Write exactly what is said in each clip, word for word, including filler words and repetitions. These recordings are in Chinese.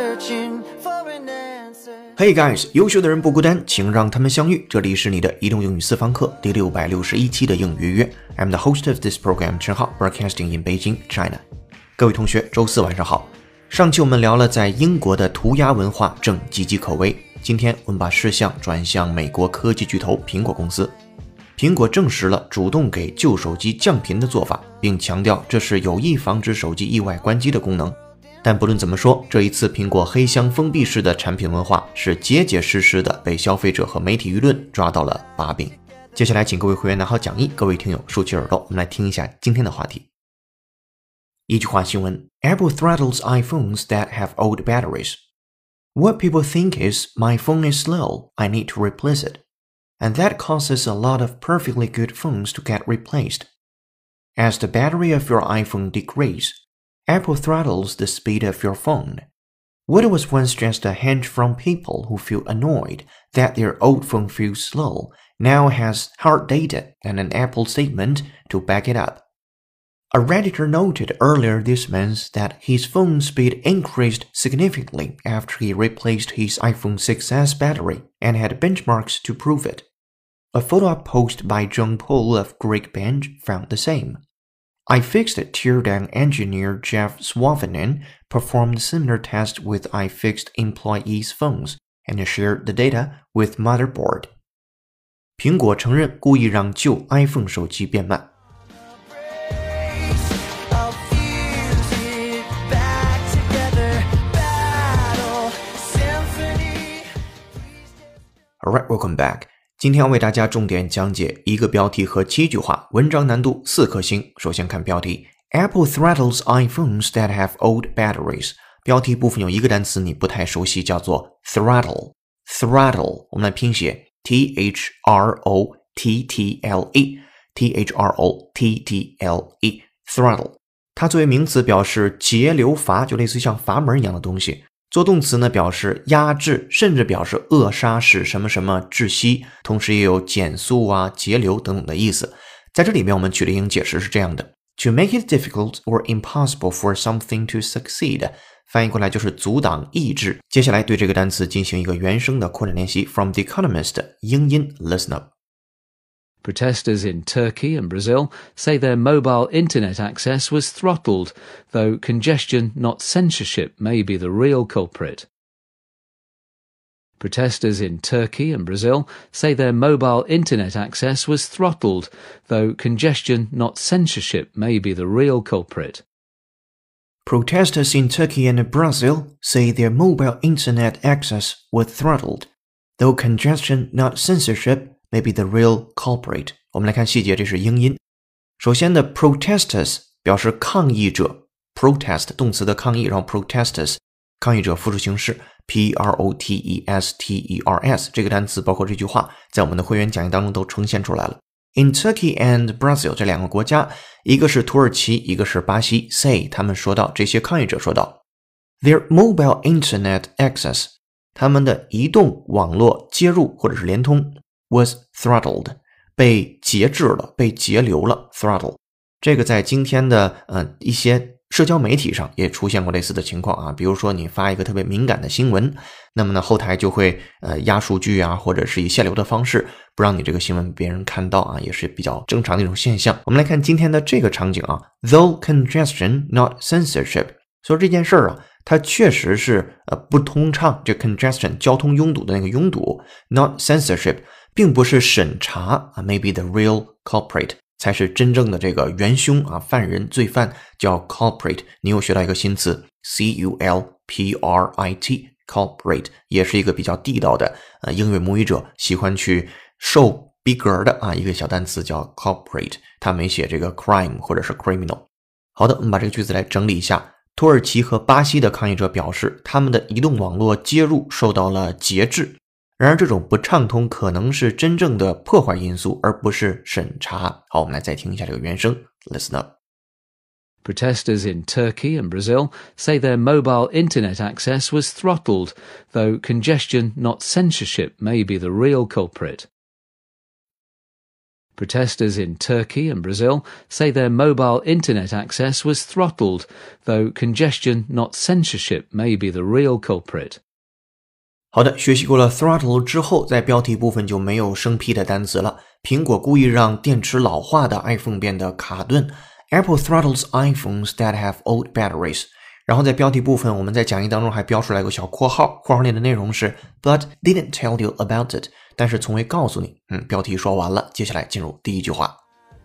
Hey guys， 优秀的人不孤单，请让他们相遇。这里是你的移动英语私房课第六百六十一期的英语约。I'm the host of this program， 陈浩 ，broadcasting in Beijing, China。各位同学，周四晚上好。上期我们聊了在英国的涂鸦文化正岌岌可危，今天我们把视线转向美国科技巨头苹果公司。苹果证实了主动给旧手机降频的做法，并强调这是有意防止手机意外关机的功能。但不论怎么说，这一次苹果黑箱封闭式的产品文化是结结实实的被消费者和媒体舆论抓到了把柄。接下来请各位会员拿好讲义，各位听友竖起耳朵，我们来听一下今天的话题。一句话新闻 Apple throttles iPhones that have old batteries. What people think is, my phone is slow, I need to replace it. And that causes a lot of perfectly good phones to get replaced. As the battery of your iPhone degrades, Apple throttles the speed of your phone. What was once just a hunch from people who feel annoyed that their old phone feels slow now has hard data and an Apple statement to back it up. A Redditor noted earlier this month that his phone speed increased significantly after he replaced his iPhone six S battery and had benchmarks to prove it. A follow-up post by John Paul of Geekbench found the same.iFixit teardown engineer Jeff Swavinen performed similar tests with iFixit employees' phones and shared the data with Motherboard. 苹果承认故意让旧 iPhone 手机变慢。Alright, welcome back.今天要为大家重点讲解一个标题和七句话，文章难度四颗星。首先看标题 Apple throttles iPhones that have old batteries。 标题部分有一个单词你不太熟悉，叫做 throttle。 Throttle 我们来拼写 T H R O T T L E T H R O T T L E Throttle 它作为名词表示节流阀，就类似像阀门一样的东西。做动词呢，表示压制，甚至表示扼杀，使什么什么窒息，同时也有减速啊、节流等等的意思。在这里面我们取的英语解释是这样的 To make it difficult or impossible for something to succeed 翻译过来就是阻挡、抑制。接下来对这个单词进行一个原声的扩展练习 From The Economist 英音 Listen up.Protesters in Turkey and Brazil say their mobile internet access was throttled, though congestion, not censorship, may be the real culprit. Protesters in Turkey and Brazil say their mobile internet access was throttled, though congestion, not censorship, may be the real culprit. Protesters in Turkey and Brazil say their mobile internet access was throttled, though congestion, not censorship,Maybe the real culprit. 我们来看细节，这是英音。首先的 protesters 表示抗议者 ，protest 动词的抗议，然后 protesters 抗议者复数形式 P R O T E S T E R S 这个单词包括这句话，在我们的会员讲义当中都呈现出来了。In Turkey and Brazil 这两个国家，一个是土耳其，一个是巴西 say 他们说到，这些抗议者说到 Their mobile internet access 他们的移动网络接入或者是联通was throttled 被节制了，被节流了 throttle 这个在今天的呃一些社交媒体上也出现过类似的情况啊，比如说你发一个特别敏感的新闻，那么呢后台就会呃压数据啊，或者是以限流的方式不让你这个新闻别人看到啊，也是比较正常的一种现象。我们来看今天的这个场景啊 Though congestion not censorship 所以这件事儿啊它确实是呃不通畅，这 congestion 交通拥堵的那个拥堵 not censorship并不是审查啊 maybe the real culprit 才是真正的这个元凶啊，犯人罪犯叫 culprit。 你又学到一个新词 C U L P R I T culprit 也是一个比较地道的呃英语母语者喜欢去受逼格的啊一个小单词叫 culprit， 他没写这个 crime 或者是 criminal。 好的，我们把这个句子来整理一下。土耳其和巴西的抗议者表示他们的移动网络接入受到了节制，然而这种不畅通可能是真正的破坏因素，而不是审查。好，我们来再听一下这个原声 Listen up. Protesters in Turkey and Brazil say their mobile internet access was throttled, though congestion, not censorship, may be the real culprit. Protesters in Turkey and Brazil say their mobile internet access was throttled, though congestion, not censorship, may be the real culprit. 好的，学习过了 throttle 之后，在标题部分就没有生僻的单词了。苹果故意让电池老化的 iPhone 变得卡顿。Apple throttles iPhones that have old batteries. 然后在标题部分，我们在讲义当中还标出来一个小括号，括号内的内容是 But didn't tell you about it. 但是从未告诉你。嗯，标题说完了，接下来进入第一句话。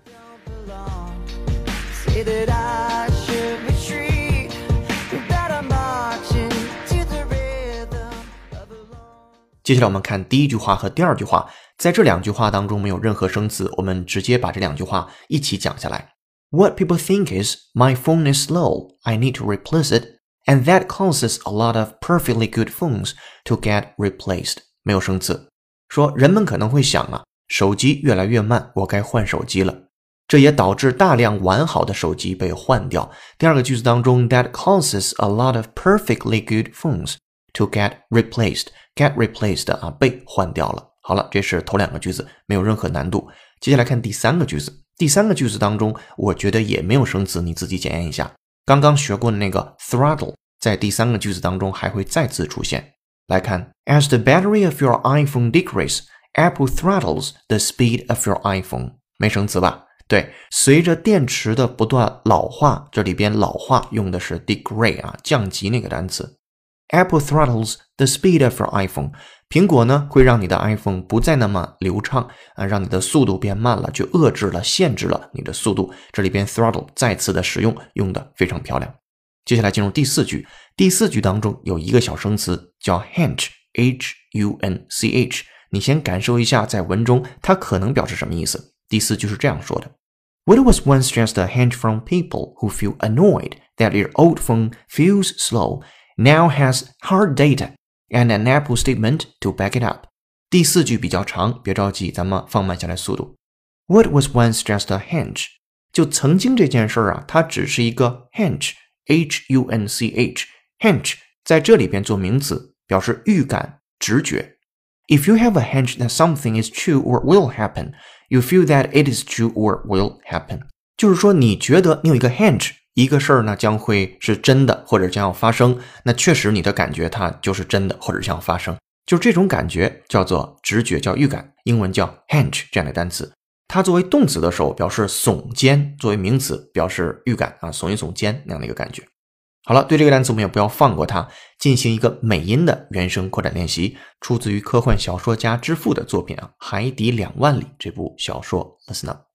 接下来我们看第一句话和第二句话，在这两句话当中没有任何生词，我们直接把这两句话一起讲下来。What people think is, my phone is slow, I need to replace it, and that causes a lot of perfectly good phones to get replaced. 没有生词。说人们可能会想啊，手机越来越慢，我该换手机了。这也导致大量完好的手机被换掉。第二个句子当中 that causes a lot of perfectly good phones to get replaced. Get replaced 啊，被换掉了。好了，这是头两个句子，没有任何难度。接下来看第三个句子。第三个句子当中，我觉得也没有生词，你自己检验一下。刚刚学过的那个 throttle 在第三个句子当中还会再次出现。来看 As the battery of your iPhone decreases, Apple throttles the speed of your iPhone. 没生词吧？对，随着电池的不断老化，这里边老化用的是 degrade 啊，降级那个单词。Apple throttles the speed of your iPhone. 苹果呢会让你的 iPhone 不再那么流畅啊，让你的速度变慢了，就遏制了、限制了你的速度。这里边 throttle 再次的使用，用的非常漂亮。接下来进入第四句，第四句当中有一个小生词叫 hunch, H U N C H. 你先感受一下在文中它可能表示什么意思。第四句是这样说的。What was once just a hunch from people who feel annoyed that their old phone feels slow.Now has hard data and an Apple statement to back it up. 第四句比较长，别着急，咱们放慢下来速度。What was once just a hunch? 就曾经这件事啊，它只是一个 hunch, H U N C H. Hunch 在这里边做名词，表示预感、直觉。If you have a hunch that something is true or will happen, you feel that it is true or will happen. 就是说，你觉得你有一个 hunch。一个事儿呢将会是真的或者将要发生，那确实你的感觉它就是真的或者将要发生，就这种感觉叫做直觉，叫预感，英文叫 hunch 这样的单词。它作为动词的时候表示耸肩，作为名词表示预感啊，耸一耸肩那样的一个感觉。好了，对这个单词我们也不要放过它，进行一个美音的原声扩展练习，出自于科幻小说家之父的作品啊，《海底两万里》这部小说。Listen up.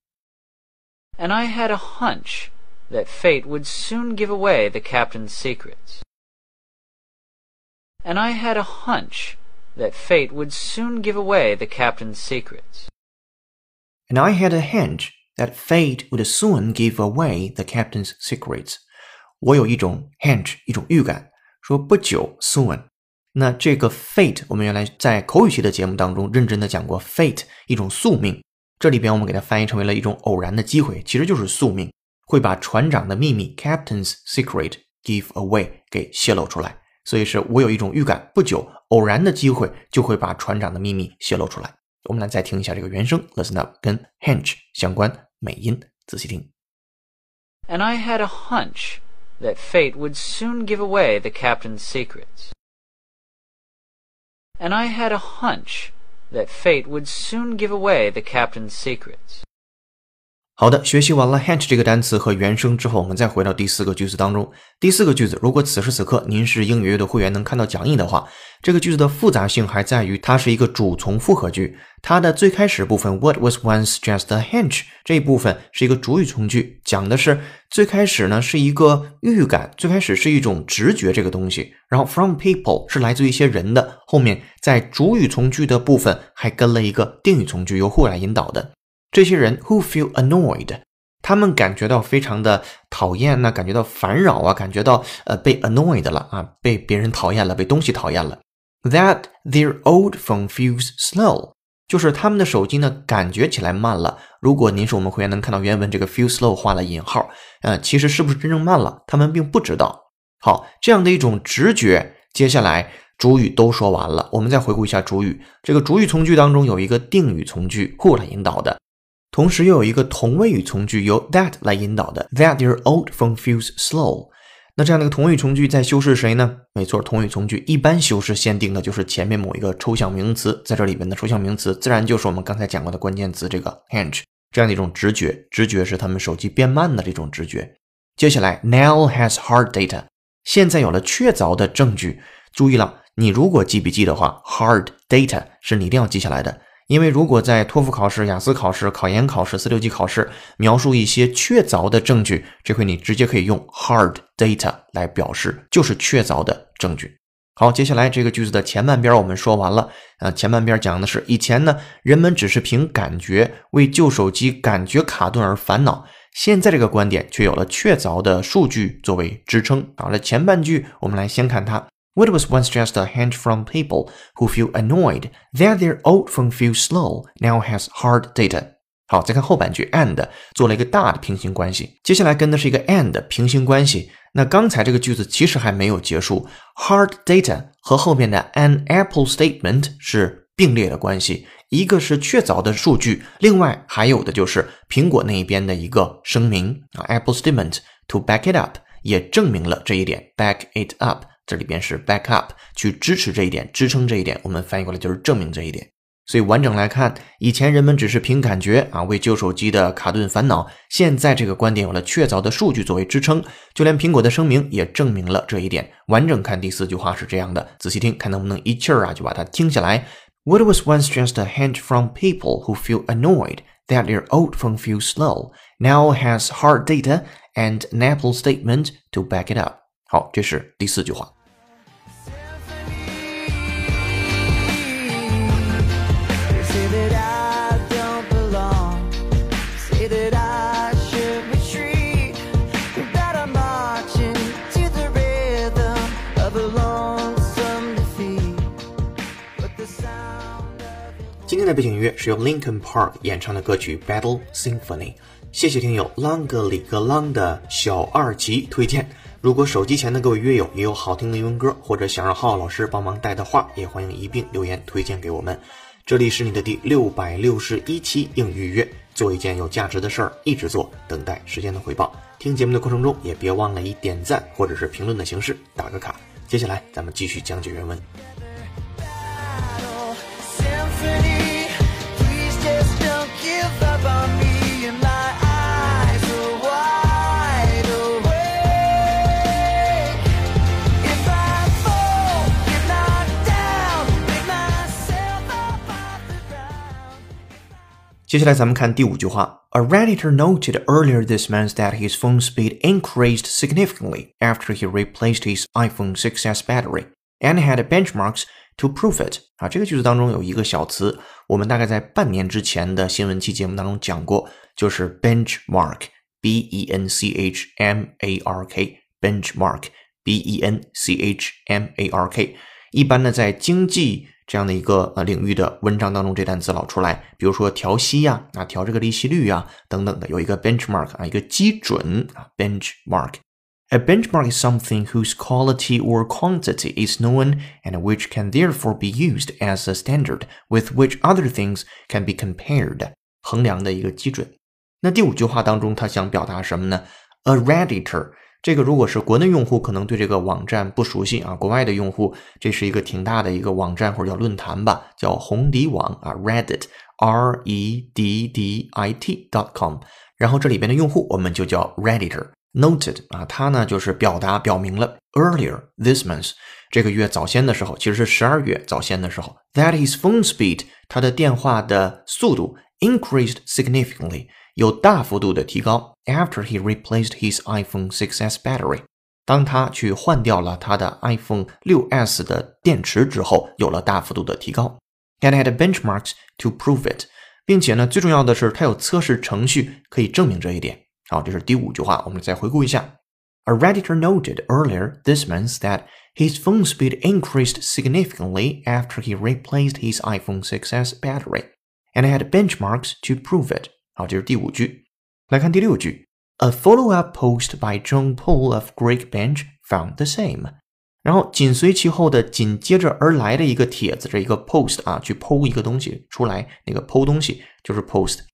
And I had a hunch that fate would soon give away the captain's secrets. And I had a hunch that fate would soon give away the captain's secrets. And I had a hunch that fate would soon give away the captain's secrets. 我有一种 hunch, 一种预感，说不久 soon. 那这个 fate 我们原来在口语系的节目当中认真的讲过 fate 一种宿命，这里边我们给它翻译成为了一种偶然的机会，其实就是宿命。会把船长的秘密 Captain's Secret give away 给泄露出来，所以是我有一种预感，不久偶然的机会就会把船长的秘密泄露出来。我们来再听一下这个原声 Listen up 跟 hunch 相关美音，仔细听。 And I had a hunch that fate would soon give away the captain's secrets. And I had a hunch that fate would soon give away the captain's secrets. 好的，学习完了 hunch 这个单词和原声之后，我们再回到第四个句子当中。第四个句子，如果此时此刻您是英语阅读会员能看到讲义的话，这个句子的复杂性还在于它是一个主从复合句，它的最开始部分 What was once just a hunch 这一部分是一个主语从句，讲的是最开始呢是一个预感，最开始是一种直觉这个东西，然后 from people 是来自于一些人的，后面在主语从句的部分还跟了一个定语从句，由 who 来引导的。这些人 who feel annoyed， 他们感觉到非常的讨厌呢，感觉到烦扰啊，感觉到呃被 annoyed 了啊，被别人讨厌了，被东西讨厌了。That their old phone feels slow， 就是他们的手机呢感觉起来慢了。如果您是我们会员能看到原文这个 feel slow 画了引号，呃，其实是不是真正慢了，他们并不知道。好，这样的一种直觉，接下来主语都说完了，我们再回顾一下主语。这个主语从句当中有一个定语从句 who 来引导的。 同时又有一个同位语从句由 that 来引导的 that their old phone feels slow。 那这样的一个同位语从句在修饰谁呢？没错，同位语从句一般修饰限定的就是前面某一个抽象名词，在这里面的抽象名词自然就是我们刚才讲过的关键词这个 hinge， 这样的一种直觉，直觉是他们手机变慢的这种直觉。接下来 now has hard data， 现在有了确凿的证据。注意了，你如果记笔记的话 hard data 是你一定要记下来的，因为如果在托福考试、雅思考试、考研考试、四六级考试描述一些确凿的证据，这回你直接可以用 hard data 来表示，就是确凿的证据。好，接下来这个句子的前半边我们说完了。呃，前半边讲的是以前呢，人们只是凭感觉为旧手机感觉卡顿而烦恼，现在这个观点却有了确凿的数据作为支撑。好了，前半句我们来先看它。What was once just a hint from people who feel annoyed that their old phone feels slow now has hard data。 好，再看后半句 and 做了一个大的平行关系，接下来跟的是一个 and 平行关系。那刚才这个句子其实还没有结束， hard data 和后面的 an Apple statement 是并列的关系，一个是确凿的数据，另外还有的就是苹果那一边的一个声明 Apple statement to back it up 也证明了这一点 back it up，这里边是 back up 去支持这一点，支撑这一点，我们翻译过来就是证明这一点。所以完整来看，以前人们只是凭感觉啊为旧手机的卡顿烦恼，现在这个观点有了确凿的数据作为支撑，就连苹果的声明也证明了这一点。完整看第四句话是这样的，仔细听看能不能一气儿啊就把它听下来。 What was once just a hint from people who feel annoyed that their old phone feels slow now has hard data and an Apple statement to back it up。 好，这是第四句话。今天的背景音乐是由 Linkin Park 演唱的歌曲 Battle Symphony。 谢谢听友啷个里个啷的小二级推荐。如果手机前的各位乐友也有好听的英文歌，或者想让浩浩老师帮忙带的话，也欢迎一并留言推荐给我们。这里是你的第六百六十一期英语预约，做一件有价值的事儿，一直做，等待时间的回报。听节目的过程中也别忘了以点赞或者是评论的形式打个卡。接下来咱们继续讲解原文。接下来咱们看第五句话。 A Redditor noted earlier this month that his phone speed increased significantly after he replaced his iPhone six S battery and had benchmarks to prove it。 啊，这个句子当中有一个小词，我们大概在半年之前的新闻期节目当中讲过，就是 benchmark B E N C H M A R K benchmark B E N C H M A R K。 一般呢在经济这样的一个呃领域的文章当中，这单词老出来，比如说调息呀、啊，调这个利息率啊等等的，有一个 benchmark 啊，一个基准啊 benchmark。A benchmark is something whose quality or quantity is known and which can therefore be used as a standard with which other things can be compared。 衡量的一个基准。那第五句话当中，他想表达什么呢？ A Redditor。这个如果是国内用户可能对这个网站不熟悉啊，国外的用户这是一个挺大的一个网站或者叫论坛吧，叫红底网啊 Reddit R E D D I T dot com。 然后这里边的用户我们就叫 Redditor。 Noted 啊，它呢就是表达表明了 earlier this month 这个月早先的时候，其实是十二月早先的时候 that his phone speed 他的电话的速度 increased significantly有大幅度的提高 after he replaced his iPhone six S battery。 当他去换掉了他的 iPhone 六 S 的电池之后，有了大幅度的提高 and had benchmarks to prove it， 并且呢最重要的是他有测试程序可以证明这一点。好，这是第五句话，我们再回顾一下。 A Redditor noted earlier this month that his phone speed increased significantly after he replaced his iPhone six S battery and had benchmarks to prove it。好，这是第五句。来看第六句。 A follow-up post by John Paul of Geekbench found the same。 然后紧随其后的紧接着而来的一个帖子，这一个 post 啊，去 po 一个东西出来，那个 po 东西就是 post。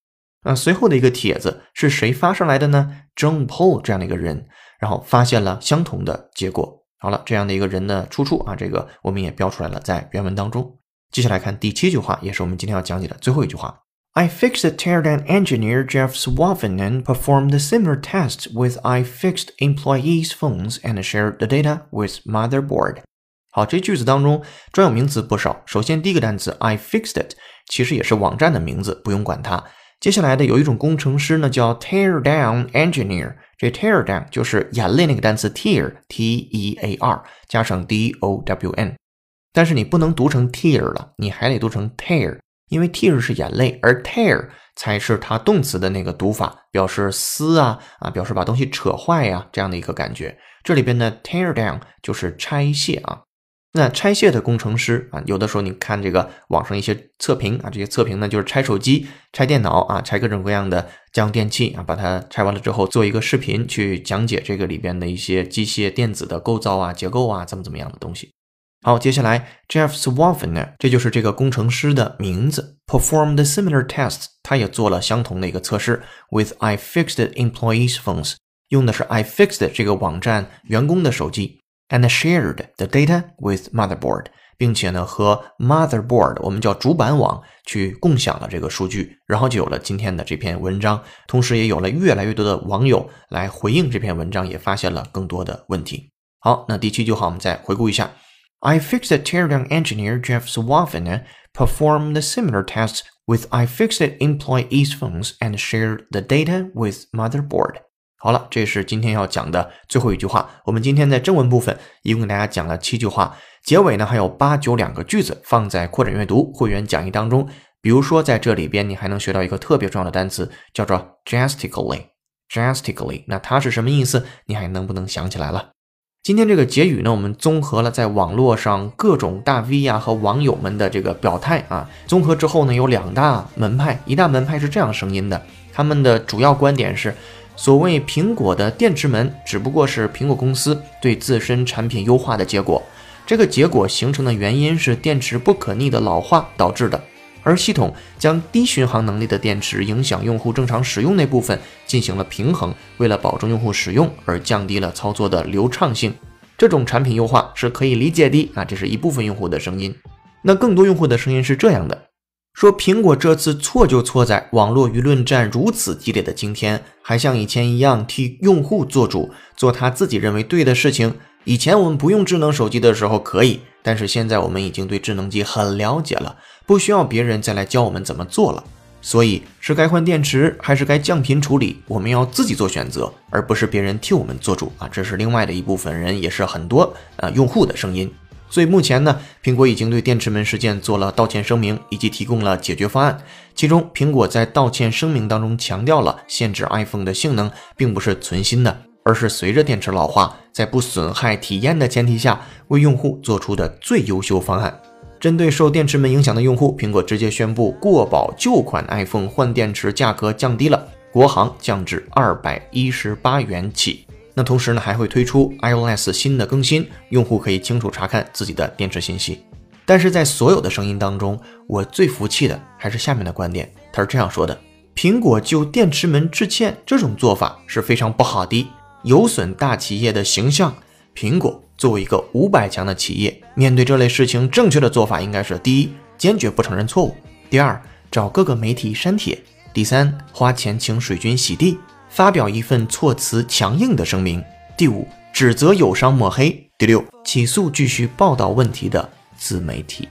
那随后的一个帖子是谁发上来的呢？ John Paul 这样的一个人，然后发现了相同的结果。好了，这样的一个人的出处啊，这个我们也标出来了，在原文当中。接下来看第七句话，也是我们今天要讲解的最后一句话。iFixit teardown engineer Jeff Swaffinen performed a similar test with iFixit employees' phones and shared the data with motherboard. 好，这句子当中专有名词不少。首先第一个单词 iFixit 其实也是网站的名字，不用管它。接下来的有一种工程师呢叫 teardown engineer， 这 teardown 就是眼泪那个单词 tear T E A R 加上 D O W N， 但是你不能读成 tear 了，你还得读成 tear， 因为 tear 是眼泪，而 tear 才是它动词的那个读法，表示撕啊啊，表示把东西扯坏呀、啊、这样的一个感觉。这里边的 tear down 就是拆卸啊。那拆卸的工程师啊，有的时候你看这个网上一些测评啊，这些测评呢就是拆手机、拆电脑啊，拆各种各样的家用电器啊，把它拆完了之后做一个视频去讲解这个里边的一些机械电子的构造啊、结构啊，怎么怎么样的东西。好，接下来 Jeff Swaffinen 这就是这个工程师的名字 performed similar tests， 他也做了相同的一个测试 with iFixit employees phones， 用的是 iFixit 这个网站员工的手机and shared the data with motherboard， 并且呢和 motherboard 我们叫主板网去共享了这个数据，然后就有了今天的这篇文章，同时也有了越来越多的网友来回应这篇文章，也发现了更多的问题。好，那第七句话我们再回顾一下。iFixit teardown engineer Jeff Swaffinen performed similar tests with iFixit employees' phones and shared the data with motherboard。好了，这是今天要讲的最后一句话。我们今天在正文部分一共给大家讲了七句话，结尾呢还有八九两个句子放在扩展阅读会员讲义当中。比如说在这里边你还能学到一个特别重要的单词，叫做 drastically drastically， 那它是什么意思？你还能不能想起来了？今天这个结语呢，我们综合了在网络上各种大 V 啊和网友们的这个表态啊，综合之后呢，有两大门派，一大门派是这样声音的，他们的主要观点是，所谓苹果的电池门只不过是苹果公司对自身产品优化的结果，这个结果形成的原因是电池不可逆的老化导致的，而系统将低巡航能力的电池影响用户正常使用那部分进行了平衡，为了保证用户使用而降低了操作的流畅性。这种产品优化是可以理解的啊，这是一部分用户的声音。那更多用户的声音是这样的，说苹果这次错就错在网络舆论战如此激烈的今天，还像以前一样替用户做主，做他自己认为对的事情。以前我们不用智能手机的时候可以，但是现在我们已经对智能机很了解了，不需要别人再来教我们怎么做了。所以是该换电池还是该降频处理，我们要自己做选择，而不是别人替我们做主啊！这是另外的一部分人，也是很多呃用户的声音。所以目前呢，苹果已经对电池门事件做了道歉声明，以及提供了解决方案。其中，苹果在道歉声明当中强调了限制 iPhone 的性能并不是存心的，而是随着电池老化，在不损害体验的前提下，为用户做出的最优秀方案。针对受电池门影响的用户，苹果直接宣布过保旧款 iPhone 换电池价格降低了，国行降至二百一十八元起。那同时呢，还会推出 iOS 新的更新，用户可以清楚查看自己的电池信息。但是在所有的声音当中，我最服气的还是下面的观点，他是这样说的：苹果就电池门致歉这种做法是非常不好的，有损大企业的形象。苹果作为一个五百强的企业，面对这类事情，正确的做法应该是：第一，坚决不承认错误；第二，找各个媒体删帖；第三，花钱请水军洗地，发表一份措辞强硬的声明；第五，指责友商抹黑；第六，起诉继续报道问题的自媒体。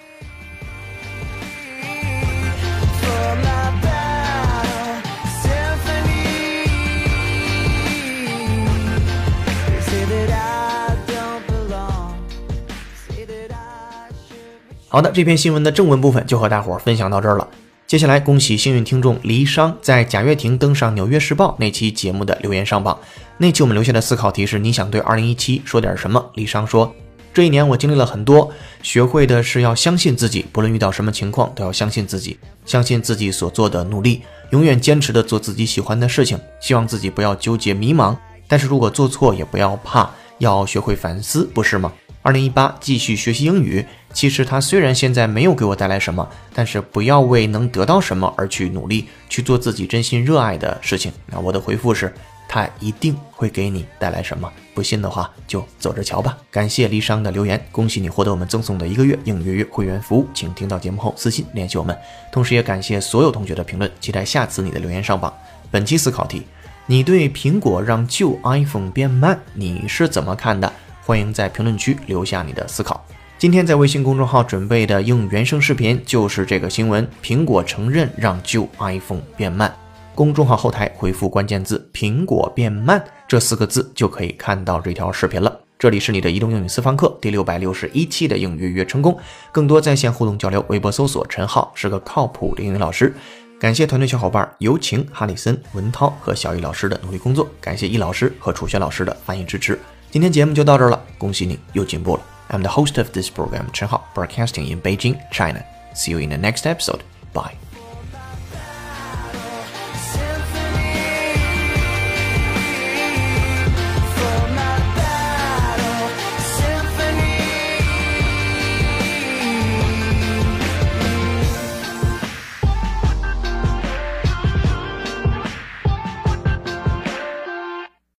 好的，这篇新闻的正文部分就和大伙儿分享到这儿了。接下来恭喜幸运听众黎商在贾跃亭登上纽约时报那期节目的留言上榜。那期我们留下的思考题是：你想对二零一七说点什么？黎商说，这一年我经历了很多，学会的是要相信自己，不论遇到什么情况都要相信自己，相信自己所做的努力，永远坚持的做自己喜欢的事情，希望自己不要纠结迷茫，但是如果做错也不要怕，要学会反思，不是吗？二零一八继续学习英语， 其实它虽然现在没有给我带来什么，但是不要为能得到什么而去努力，去做自己真心热爱的事情。那我的回复是，它一定会给你带来什么，不信的话就走着瞧吧。感谢离殇的留言，恭喜你获得我们赠送的一个月应约约会员服务，请听到节目后私信联系我们。同时也感谢所有同学的评论，期待下次你的留言上榜。本期思考题，你对苹果让旧 iPhone 变慢你是怎么看的？欢迎在评论区留下你的思考。今天在微信公众号准备的应原声视频就是这个新闻，苹果承认让旧 iPhone 变慢。公众号后台回复关键字苹果变慢这四个字就可以看到这条视频了。这里是你的移动英语私房课第六百六十一期的应约约成功，更多在线互动交流，微博搜索陈浩是个靠谱的英语老师。感谢团队小伙伴尤晴、哈里森、文涛和小易老师的努力工作，感谢易老师和楚轩老师的翻译支持。今天节目就到这儿了，恭喜你又进步了。I'm the host of this program, Chen Hao, broadcasting in Beijing, China. See you in the next episode. Bye.